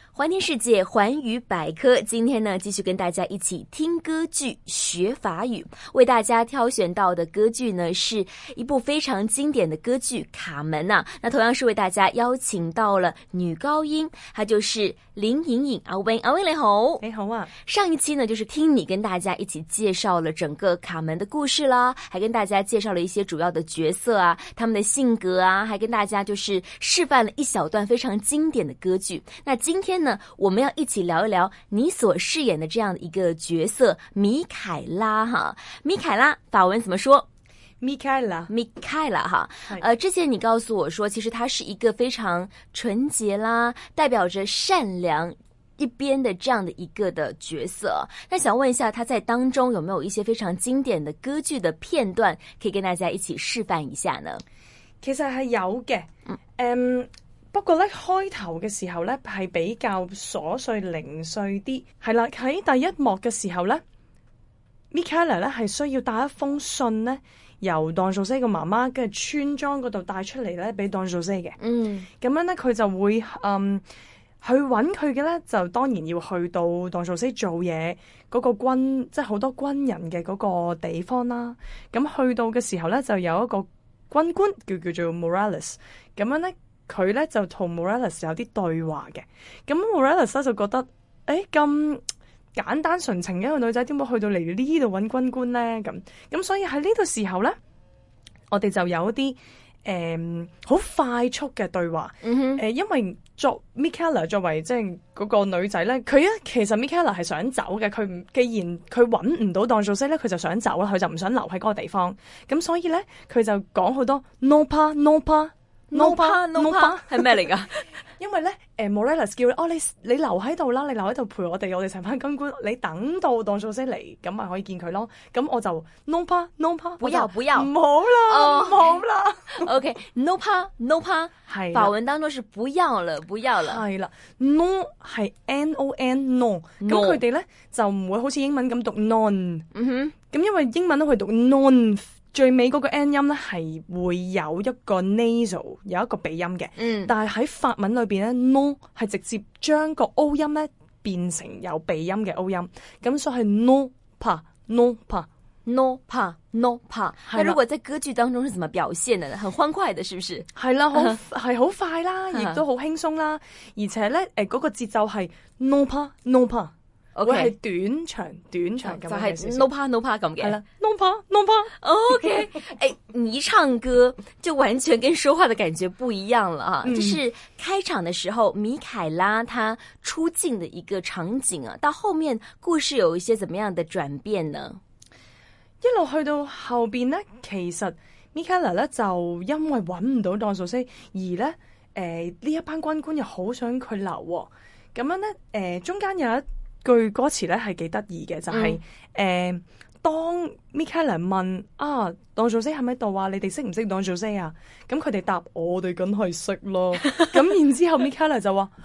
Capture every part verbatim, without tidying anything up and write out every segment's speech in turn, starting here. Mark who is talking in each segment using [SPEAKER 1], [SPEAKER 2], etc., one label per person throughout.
[SPEAKER 1] 环听世界，环语百科。今天呢，继续跟大家一起听歌剧学法语。为大家挑选到的歌剧呢，是一部非常经典的歌剧《卡门》啊。那同样是为大家邀請到了女高音，她就是林颖颖阿 Win。阿 Win 你好，
[SPEAKER 2] 你好啊。
[SPEAKER 1] 上一期呢，就是聽你跟大家一起介紹了整個卡門的故事啦，還跟大家介紹了一些主要的角色啊，他們的性格啊，還跟大家就是示範了一小段非常經典的歌劇。那今天呢，我們要一起聊一聊你所飾演的這樣的一個角色米凱拉哈。米凱拉法文怎麼說？
[SPEAKER 2] 米凱拉，
[SPEAKER 1] 米凱拉哈。呃，之前你告訴我說，其實他是一個非常純潔啦，代表着善良一邊的這樣的一個的角色。那想問一下，他在當中有沒有一些非常經典的歌劇的片段，可以跟大家一起示範一下呢？
[SPEAKER 2] 其實係有嘅，嗯。嗯不過咧，開頭嘅時候咧係比較瑣碎零碎啲，係啦。喺第一幕嘅時候咧，米凱拉咧係需要帶一封信咧，由當素西個媽媽嘅村莊嗰度帶出嚟咧，俾當素西嘅。嗯，咁樣咧佢就會嗯去揾佢嘅咧，就當然要去到當素西做嘢嗰個軍，即係好多軍人嘅嗰個地方啦。咁去到嘅時候咧，就有一個軍官叫叫做 Morales， 咁樣咧。佢咧就同 Morales 有啲對話嘅，咁 Morales 咧就覺得，誒咁簡單純情嘅一個女仔，點會去到嚟呢度揾軍官咧？咁咁所以喺呢個時候咧，我哋就有一啲誒好快速嘅對話。誒、嗯呃，因為作 Michaela 作為即係嗰個女仔咧，佢咧其實 Michaela 係想走嘅，佢唔既然佢揾唔到當素西咧，佢就想走啦，佢就唔想留喺嗰個地方。咁所以咧，佢就講好多 no pa no pa。no pa no pa
[SPEAKER 1] 係咩嚟噶？
[SPEAKER 2] 因為咧，誒 Morales 叫你哦，你你留喺度啦，你留喺度陪我哋，我哋成班軍官，你等到當素西嚟，咁咪可以見佢咯。咁我就 no pa no pa，
[SPEAKER 1] 不要不要，
[SPEAKER 2] 唔好啦，唔好啦。
[SPEAKER 1] OK no pa no pa， 係法文當中是不要了，不要了。
[SPEAKER 2] 係啦 ，no 係 n o n no， 咁佢哋咧就唔會好似英文咁讀 non。嗯哼，咁因為英文都會讀 non。最尾嗰個 n 音咧係會有一個 nasal 有一個鼻音嘅，嗯，但係喺法文裏邊咧 no 係直接將個 o 音咧變成有鼻音嘅 o 音，咁所以係 no pa no pa
[SPEAKER 1] no pa no pa。那如果在歌劇當中是怎麼表現的呢？很歡快的，是不是？
[SPEAKER 2] 係啦，好係好快啦，亦都好輕鬆啦，而且咧誒嗰個節奏係 no pa no pa。Okay. 會係短長短長咁樣，
[SPEAKER 1] 就係 no pa no pa 咁嘅。
[SPEAKER 2] 係啦 ，no pa no pa。OK，
[SPEAKER 1] 誒，你一唱歌就完全跟說話的感覺不一樣了啊！嗯、這是開場的時候，米凱拉她出鏡的一個場景啊。到後面故事有一些怎麼樣的轉變呢？
[SPEAKER 2] 一路去到後邊咧，其實米凱拉咧就因為揾唔到當素西，而咧誒呢一班軍官又好想佢留喎。咁樣咧誒、呃、中間有一句歌詞咧係幾得意嘅，就係、是、誒、嗯呃、當 Michaela 問啊當素西喺咪度啊？你哋識唔識當素西啊？咁佢哋答我哋梗係識咯。咁然之後 Michaela 就話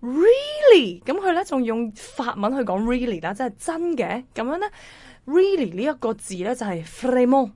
[SPEAKER 2] really， 咁佢咧仲用法文去講 really 啦，即係真嘅。咁樣咧 really 呢一個字咧就係 vraiment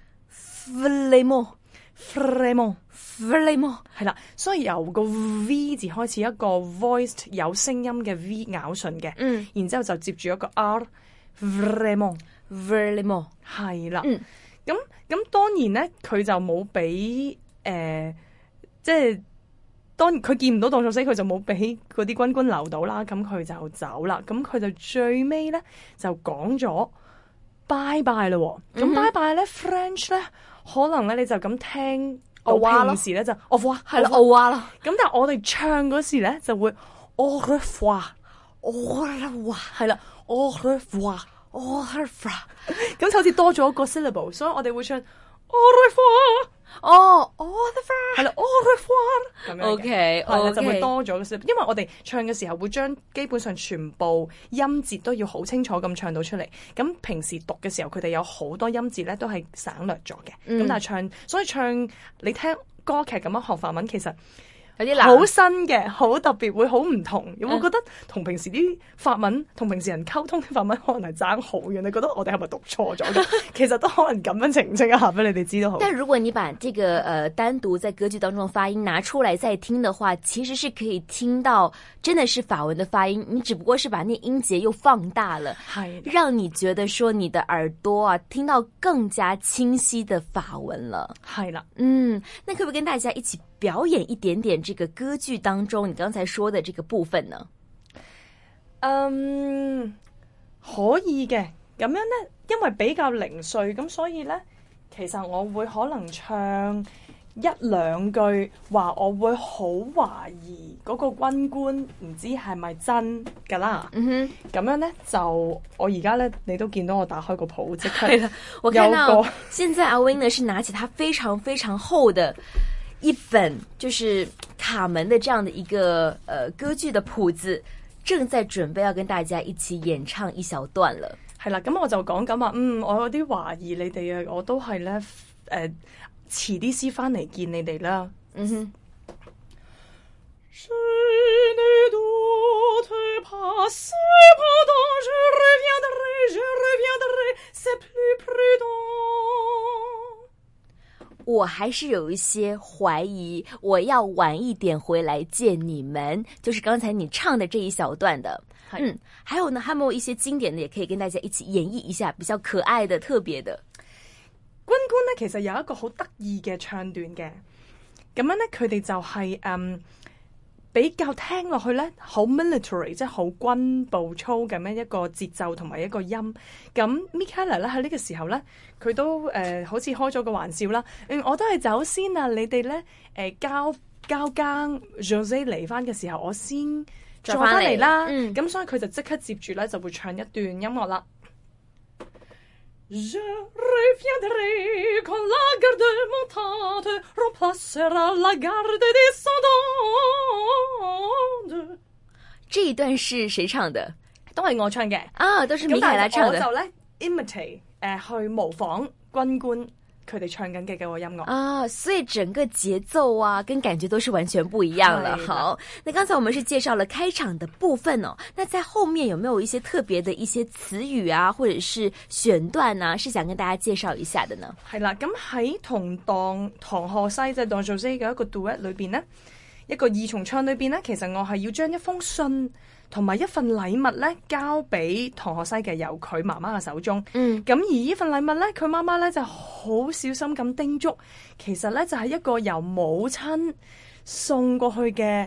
[SPEAKER 1] vraiment
[SPEAKER 2] vraiment
[SPEAKER 1] vraiment
[SPEAKER 2] 係啦，所以由個 V 字開始一個 voiced 有聲音嘅 V 咬唇嘅，嗯，然之後就接住一個 R vraiment
[SPEAKER 1] vraiment
[SPEAKER 2] 係啦，嗯，咁咁當然咧，佢就冇俾誒，即係當佢見唔到當素西，佢就冇俾嗰啲軍官留到啦，咁佢就走啦，咁佢就最尾咧就講咗拜拜啦，咁拜拜咧 French 咧可能咧你就咁聽。我平時咧就我哇
[SPEAKER 1] 係啦，我哇啦。
[SPEAKER 2] 咁但係我哋唱嗰時咧就會 au revoir au revoir 係啦 au revoir au revoir 咁就好似多咗一個 syllable， 所以我哋會唱 au revoir
[SPEAKER 1] 哦 au revoir
[SPEAKER 2] 係啦 au revoir 咁樣嘅
[SPEAKER 1] OK OK
[SPEAKER 2] 就會多咗個 syllable， 因為我哋唱嘅時候會將基本上全部音節都要好清楚咁唱到出嚟。咁平時讀嘅時候佢哋有好多音節咧都係省略咗嘅。咁、嗯、但係唱所以唱你聽歌劇咁樣學法文其實
[SPEAKER 1] 有啲難，
[SPEAKER 2] 好新嘅，好特別，會好唔同。有冇覺得同平時啲法文同平時人溝通啲法文可能係爭好遠？你覺得我哋係咪讀錯咗嘅？其實都可能咁樣澄清一下俾你哋知道好。
[SPEAKER 1] 但如果你把這個呃單獨在歌劇當中的發音拿出來再聽的話，其實是可以聽到真的是法文的發音，你只不過是把那音節又放大了，
[SPEAKER 2] 係
[SPEAKER 1] 讓你覺得說你的耳朵啊聽到更加清晰的法文了。
[SPEAKER 2] 係啦，
[SPEAKER 1] 嗯，那可不可以跟大家一起表演一點點這個歌劇當中你剛才說的這個部分呢？
[SPEAKER 2] 嗯，可以嘅。咁樣呢，因為比較零碎，咁所以呢，其實我會可能唱一兩句，話我會好懷疑嗰個軍官唔知係咪真㗎啦。嗯哼，咁樣呢，就我而家呢，你都見到我打開個譜，即刻有個。
[SPEAKER 1] 我看到現在阿 Wing 呢是拿起他非常非常厚的一本，就是卡門的這樣的一個呃歌劇的譜子，正在準備要跟大家一起演唱一小段了。
[SPEAKER 2] 係啦，咁我就講緊話，嗯，我有啲懷疑你哋啊，我都係咧，誒、呃，遲啲先翻嚟見你哋啦。嗯哼。
[SPEAKER 1] 我還是有一些懷疑，我要晚一點回來見你們，就是剛才你唱的這一小段的。嗯，還有呢，還有沒有一些經典的也可以跟大家一起演繹一下，比較可愛的、特別的？
[SPEAKER 2] 軍官呢，其實有一個好得意嘅唱段嘅，咁樣呢，佢哋就係、是、嗯比較聽落去呢，好 military， 即係好軍步操咁樣一個節奏同埋一個音。咁 Michaela 咧喺呢個時候呢，佢都誒、呃、好似開咗個玩笑啦。嗯，我都係走先啊，你哋呢，誒、呃、交交更 José 嚟翻嘅時候，我先再翻嚟啦。咁、嗯、所以佢就即刻接住咧就會唱一段音樂啦。Je reviendrai quand la garde montante remplacera la garde descendante。
[SPEAKER 1] 這一段是誰唱的？
[SPEAKER 2] 都係我唱嘅
[SPEAKER 1] 啊，都是米凱拉唱的。
[SPEAKER 2] 我就咧 imitate 誒、呃、去模仿軍官佢哋唱緊嘅嗰個音樂
[SPEAKER 1] 啊，所以整個節奏啊跟感覺都是完全不一樣了。好，那剛才我們是介紹了開場的部分哦，那在後面有沒有一些特別的一些詞語啊，或者是選段啊，是想跟大家介紹一下的呢？
[SPEAKER 2] 係啦，咁喺同當唐賀西即係當做西嘅一個 duet 裏邊呢，一個二重唱裏邊呢，其實我係要將一封信同埋一份禮物咧，交俾唐賀西嘅，由佢媽媽嘅手中。嗯，咁而呢份禮物咧，佢媽媽咧就好小心咁叮囑，其實咧就係、是、一個由母親送過去嘅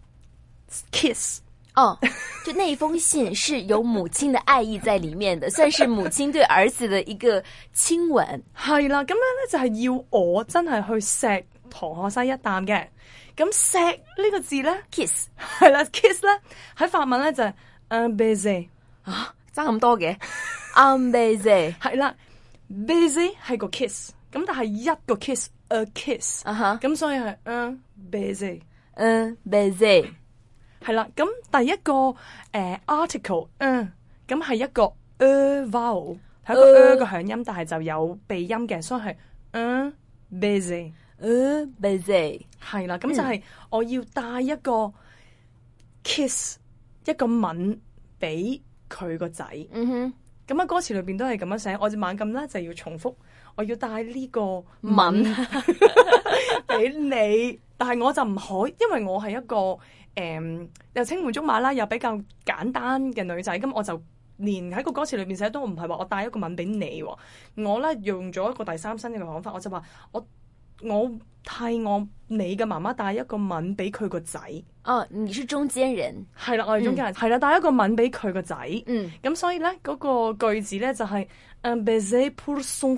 [SPEAKER 2] kiss。
[SPEAKER 1] 哦，就那一封信是有母親的愛意在裏面的，算是母親對兒子的一個親吻。
[SPEAKER 2] 係啦，咁樣咧就係要我真係去錫唐賀西一啖嘅。咁錫呢個字咧 ，kiss 係啦 ，kiss 咧喺法文咧就係 un baiser
[SPEAKER 1] 啊，爭咁多嘅 un baiser
[SPEAKER 2] 係啦 ，baiser 係個 kiss， 咁但係一個 kiss，a kiss， 啊哈，咁所以係 un baiser，un
[SPEAKER 1] baiser
[SPEAKER 2] 係啦。咁第一個誒、呃、article， 嗯，咁係一個 e vowel， 係一個 e 嘅響音，但係就有鼻音嘅，所以係 un baiser。
[SPEAKER 1] 呃 busy
[SPEAKER 2] 係啦，咁就係我要帶一個 kiss、嗯、一個吻俾佢個仔。嗯哼，咁喺歌詞裏邊都係咁樣寫，我就猛咁咧就要重複，我要帶呢個吻俾你，但係我就唔可以，因為我係一個誒、嗯、又青梅竹馬啦，又比較簡單嘅女仔，咁我就連喺個歌詞裏邊寫都唔係話我帶一個吻俾你，我咧用咗一個第三身嘅講法，我就話我。我替我你嘅媽媽帶一個吻俾佢個仔。
[SPEAKER 1] 哦，你是中間人。
[SPEAKER 2] 係啦，我係中間人。係啦、嗯，帶一個吻俾佢個仔。嗯，咁所以咧嗰、那個句子咧就係、是、un baiser pour son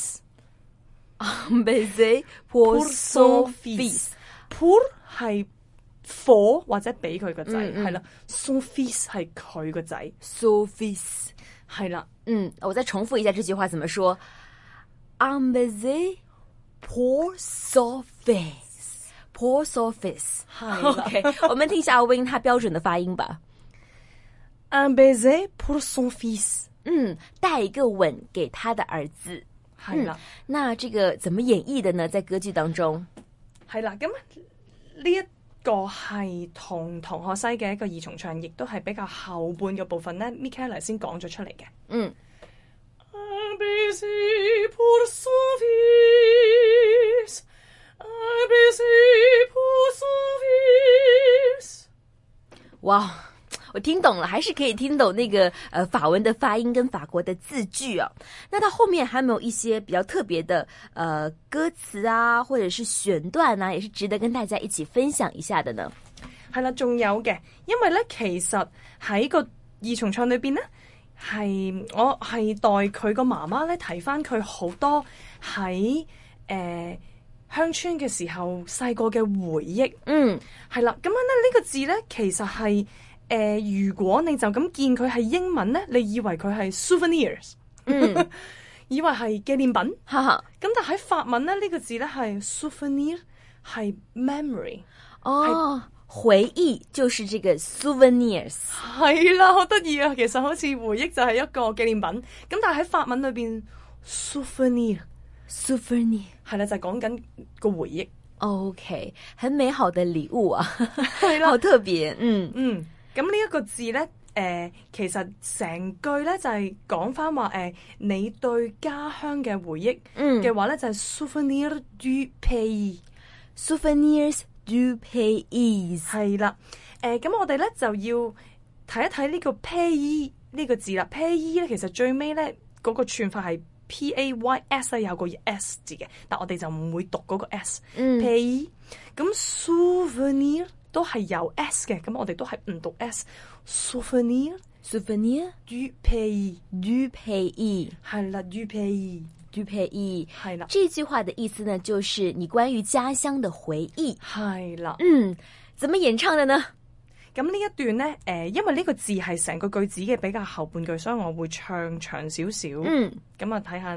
[SPEAKER 2] fils。un baiser pour son fils。pour 係 for 或者俾佢個仔，係、嗯、啦、嗯。son fils 係佢個仔。
[SPEAKER 1] son fils
[SPEAKER 2] 係啦。
[SPEAKER 1] 嗯，我再重複一下這句話怎麼說 un baiser Pour son fils, pour son fils。OK， 我們聽一下阿 Wing 他標準的發音吧。
[SPEAKER 2] Un baiser pour son fils。
[SPEAKER 1] 嗯，帶一個吻給他的兒子。
[SPEAKER 2] 係啦、
[SPEAKER 1] 嗯，那這個怎麼演繹的呢？在歌劇當中，
[SPEAKER 2] 係啦，咁呢一個係同同學西嘅一個二重唱，亦都係比較後半嘅部分咧 Michaela 先講咗出嚟嘅。
[SPEAKER 1] 嗯。
[SPEAKER 2] Un baiser pour son fils, un baiser pour son fils。
[SPEAKER 1] 哇，我听懂了，还是可以听懂那个呃法文的发音跟法国的字句哦。那它后面还没有一些比较特别的呃歌詞啊，或者是選段啊，也是值得跟大家一起分享一下的呢。
[SPEAKER 2] 係啦，仲有嘅，因為咧其實喺個二重唱裏邊咧。係我係代佢個媽媽咧提翻佢好多喺誒、呃、鄉村嘅時候細個嘅回憶。嗯，係啦，咁樣咧呢、這個字咧其實係誒、呃、如果你就咁見佢係英文咧，你以為佢係 souvenirs， 嗯，以為係紀念品，哈哈。咁但喺法文咧呢、這個字咧係 souvenir， 係 memory，
[SPEAKER 1] 哦。回憶就是這個 souvenirs，
[SPEAKER 2] 係啦，好得意啊！其實好似回憶就係一個紀念品，咁但係喺法文裏邊 souvenir
[SPEAKER 1] souvenir
[SPEAKER 2] 係啦，就係講緊個回憶。
[SPEAKER 1] OK， 很美好的禮物啊，係啦，好特別。嗯
[SPEAKER 2] 嗯，咁呢一個字咧，誒、呃，其實成句咧就係講翻話，誒、呃，你對家鄉嘅回憶嘅話咧、嗯、就係 souvenir du pays，souvenirs du pays 係啦，誒、呃，咁我哋咧就要睇一睇呢個 pays 呢個字啦。pays 咧其實最尾咧嗰個串法係 P A Y S 咧有個 S 字嘅，但我哋就唔會讀嗰個 S、嗯。pays 咁 souvenir 都係有 S 嘅，咁我哋都係唔讀 S。souvenir
[SPEAKER 1] souvenir
[SPEAKER 2] du pays
[SPEAKER 1] du pays
[SPEAKER 2] 係啦 du pays。
[SPEAKER 1] du pays
[SPEAKER 2] 係啦，
[SPEAKER 1] 這句話的意思呢，就是你關於家鄉的回憶。
[SPEAKER 2] 係啦，
[SPEAKER 1] 嗯，怎麼演唱的呢？
[SPEAKER 2] 咁呢一段呢，誒、呃，因為呢個字係成個句子嘅比較後半句，所以我會唱長少少。嗯，咁啊睇下。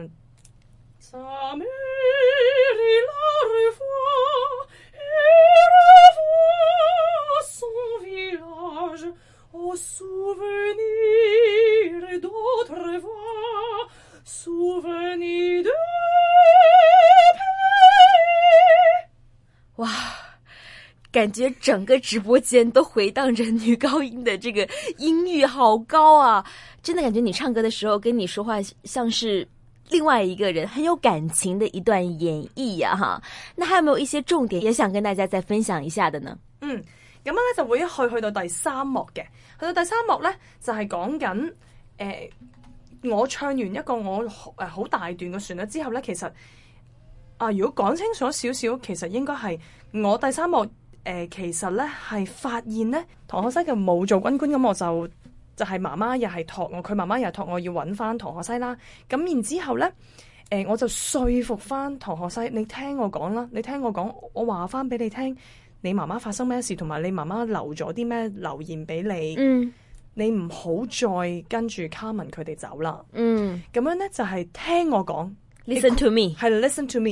[SPEAKER 1] 哇，感覺整個直播間都回盪着女高音的這個音域好高啊，真的感覺你唱歌的時候跟你說話像是另外一個人，很有感情的一段演繹呀、啊、哈。那還有沒有一些重點也想跟大家再分享一下的呢？
[SPEAKER 2] 嗯，咁樣咧就會一去去到第三幕嘅，去到第三幕咧就係講緊誒我唱完一個我誒好、呃、大段嘅旋律之後咧，其實啊，如果講清楚少少，其實應該係我第三幕誒、呃，其實咧係發現咧，唐學西嘅冇做軍官，咁我就就係媽媽又係託我，佢媽媽又係託我要揾翻唐學西啦。咁然之後咧，誒、呃、我就說服翻唐學西，你聽我講啦，你聽我講，我話翻俾你聽，你媽媽發生咩事，同埋你媽媽留咗啲咩留言俾你。嗯，你唔好再跟住卡文佢哋走啦。嗯，咁樣咧就係、是、聽我講。
[SPEAKER 1] Listen to me，
[SPEAKER 2] 係 listen to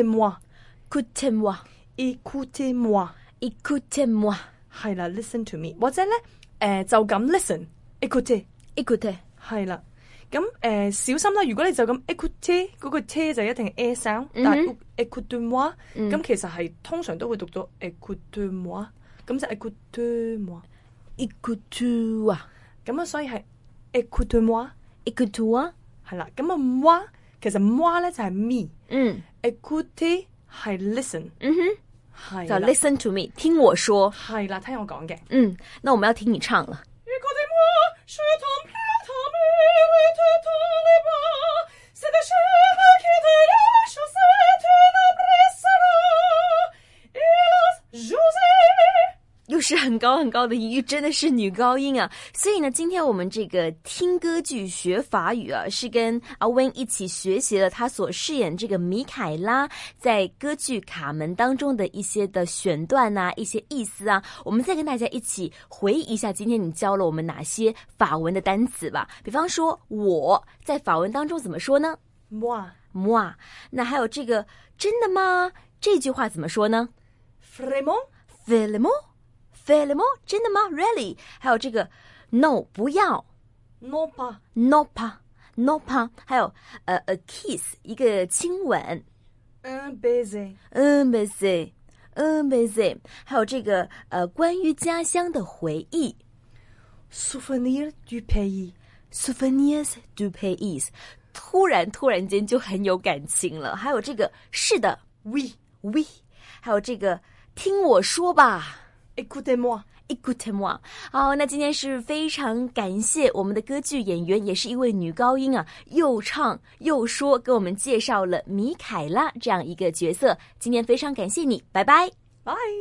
[SPEAKER 2] me，écoutez-moi，écoutez-moi，écoutez-moi，係啦 ，listen to me， 或者咧，誒、呃、就咁 listen，écoutez，écoutez， 係啦，咁誒、呃、小心啦，如果你就咁 écoutez 嗰個 t 就一定係 a sound，、嗯、但係 écoutez-moi， 咁、嗯、其實係通常都會讀到 écoutez-moi， 咁就 écoutez-moi，écoutez-moi， 咁啊，所以係 écoutez-moi，écoutez-moi， 係啦，咁啊 moi。其實 moi 咧就係 me， 嗯 ，écouter 係 listen，
[SPEAKER 1] 嗯哼，係就 listen to me， 聽我說，
[SPEAKER 2] 係啦，聽我講嘅，
[SPEAKER 1] 嗯，那我們要聽你唱了。又是很高很高的音域，真的是女高音啊！所以呢，今天我們這個聽歌劇學法語啊，是跟阿 Wayne 一起學習了他所飾演這個米凱拉在歌劇卡門當中的一些的選段啊，一些意思啊。我們再跟大家一起回憶一下，今天你教了我們哪些法文的單詞吧。比方說，我在法文當中怎麼說呢？
[SPEAKER 2] moi
[SPEAKER 1] moi。那還有這個真的嗎？這句話怎麼說呢？
[SPEAKER 2] vraiment
[SPEAKER 1] vraiment。Vraiment？ 真的嗎 ？Really？ 還有這個 no 不要
[SPEAKER 2] ，no pas
[SPEAKER 1] no pas no pas， 還有呃 a kiss 一個親吻
[SPEAKER 2] ，un baiser
[SPEAKER 1] un baiser 嗯 baiser， 还有这个呃关于家乡的回忆
[SPEAKER 2] souvenir du pays，souvenirs
[SPEAKER 1] du pays， 突然突然间就很有感情了。还有这个是的
[SPEAKER 2] oui
[SPEAKER 1] oui， 还有这个听我说吧
[SPEAKER 2] écoutez-moi。Écoutez-moi。
[SPEAKER 1] 好，那今天是非常感谢我们的歌剧演员，也是一位女高音啊，又唱又说，给我们介绍了米凯拉这样一个角色。今天非常感谢你，拜拜。
[SPEAKER 2] 拜。